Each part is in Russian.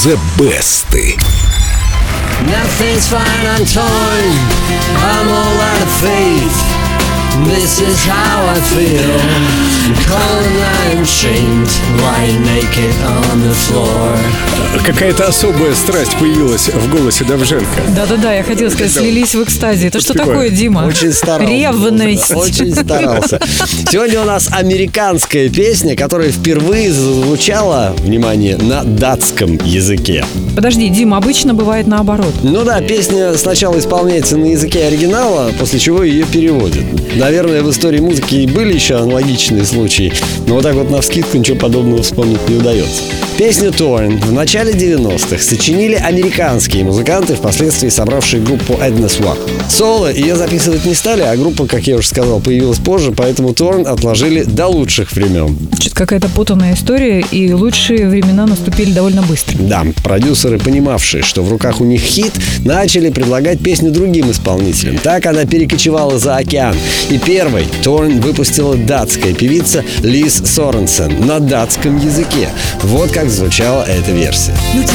The Best. Nothing's fine, I'm torn, I'm all out of faith. This is how I feel. Cold and I am shamed, lying naked on the floor. Какая-то особая страсть появилась в голосе Довженко. Да-да-да, я хотела сказать, слились в экстазе. Это что такое, Дима? Очень старался. Ревность. Очень старался. Сегодня у нас американская песня, которая впервые звучала, внимание, на датском языке. Подожди, Дима, обычно бывает наоборот. Ну да, песня сначала исполняется на языке оригинала, после чего ее переводят. Наверное, в истории музыки и были еще аналогичные случаи, но вот так вот навскидку ничего подобного вспомнить не удается. Песню Torn в начале 90-х сочинили американские музыканты, впоследствии собравшие группу Edna Swap. Соло ее записывать не стали, а группа, как я уже сказал, появилась позже, поэтому Torn отложили до лучших времен. Что-то какая-то путанная история, и лучшие времена наступили довольно быстро. Да, продюсеры, понимавшие, что в руках у них хит, начали предлагать песню другим исполнителям. Так она перекочевала за океан. И первой Torn выпустила датская певица Лиз Соренсен на датском языке. Вот как звучала эта версия.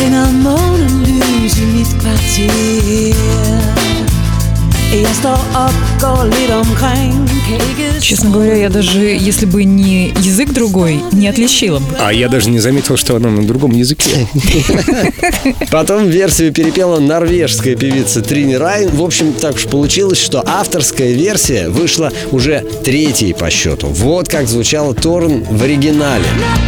Честно говоря, я даже, если бы не язык другой, не отличила бы. А я даже не заметил, что она на другом языке. Потом версию перепела норвежская певица Трини Райн. В общем, так уж получилось, что авторская версия вышла уже третьей по счету. Вот как звучала Torn в оригинале.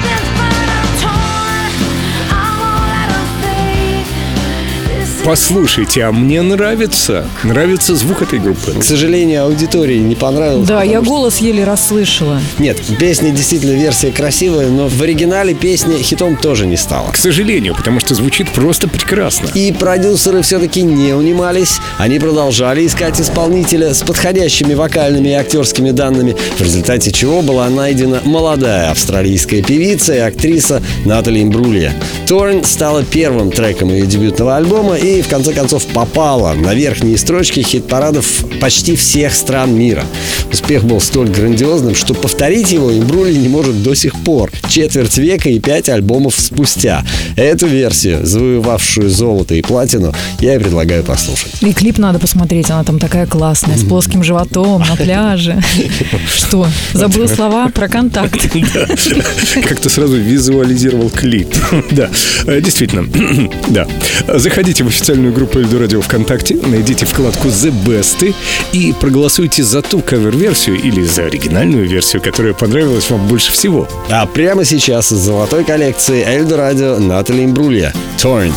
Послушайте, а мне нравится звук этой группы. К сожалению, аудитории не понравилось. Да, я голос еле расслышала. Нет, песня действительно версия красивая, но в оригинале песня хитом тоже не стала. К сожалению, потому что звучит просто прекрасно. И продюсеры все-таки не унимались. Они продолжали искать исполнителя с подходящими вокальными и актерскими данными, в результате чего была найдена молодая австралийская певица и актриса Натали Имбрулья. Torn стала первым треком ее дебютного альбома и в конце концов попала на верхние строчки хит-парадов почти всех стран мира. Успех был столь грандиозным, что повторить его Имбрулья не может до сих пор, четверть века и 5 альбомов спустя. Эту версию, завоевавшую золото и платину, я и предлагаю послушать. И клип надо посмотреть, она там такая классная, с плоским животом, на пляже. Что, забыл слова про контакт? Как-то сразу визуализировал клип. Да, действительно. Да. Заходите в официальную группу Эльдорадио ВКонтакте, найдите вкладку The Best и проголосуйте за ту кавер-версию или за оригинальную версию, которая понравилась вам больше всего. А прямо сейчас из золотой коллекции Эльдорадио Натали Имбрулья Torn.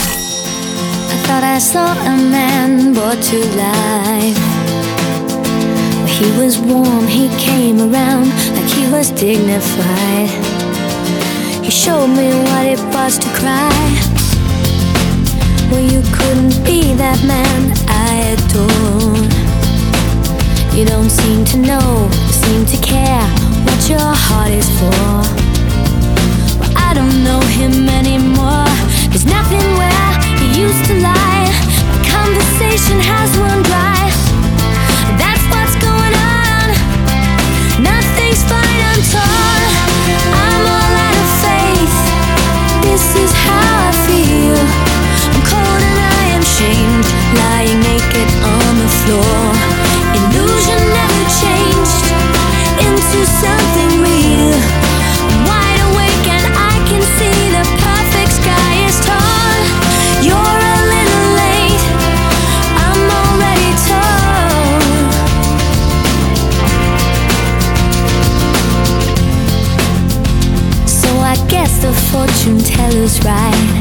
He was warm, he came around like he was dignified. He showed me what it was to cry. Well, you couldn't be that man I adore. You don't seem to know, seem to care what your heart is for. Well, I don't know him anymore. There's nothing where he used to lie. My conversation has run dry. That's what's going on. Nothing's fine, I'm torn. I'm all out of faith. This is how I feel. I'm cold and I am shamed, lying naked on the floor. Illusion never changed into something real. I'm wide awake and I can see the perfect sky is torn. You're a little late, I'm already torn. So I guess the fortune teller's right.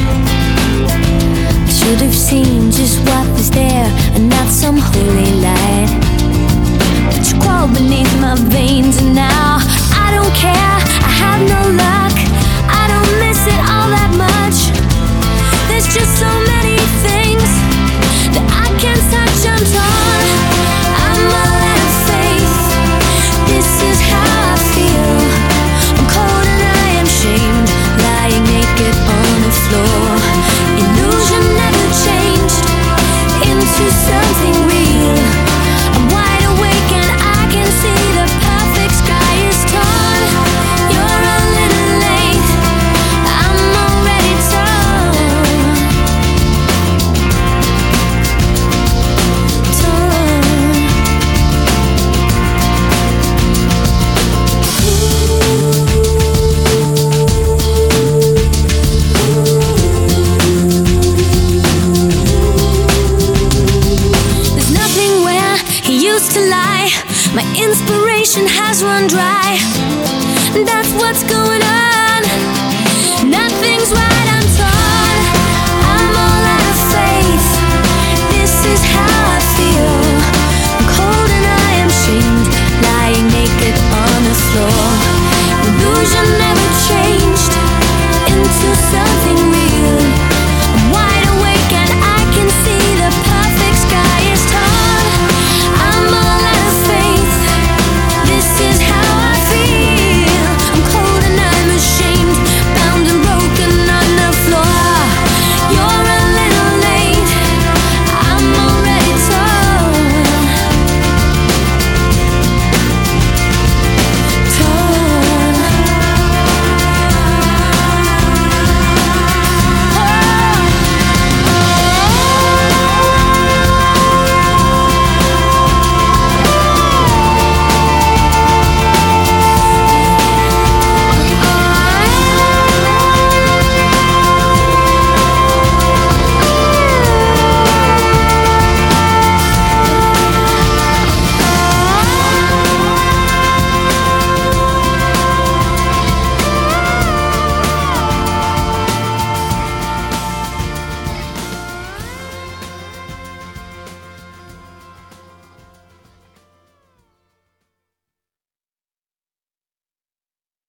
Should have seen just what was there and not some holy light. But you crawled beneath my veins and now I don't care, I have no luck. I don't miss it all that much. There's just so many things that I can't touch, I'm torn. I'm all out of faith. This is how I feel. I'm cold and I am shamed, lying naked on the floor. Illusion never changed into something real. I'm wide awake and I can see the perfect sky My inspiration has run dry. That's what's going on. Nothing's right, I'm torn. I'm all out of faith. This is how I feel.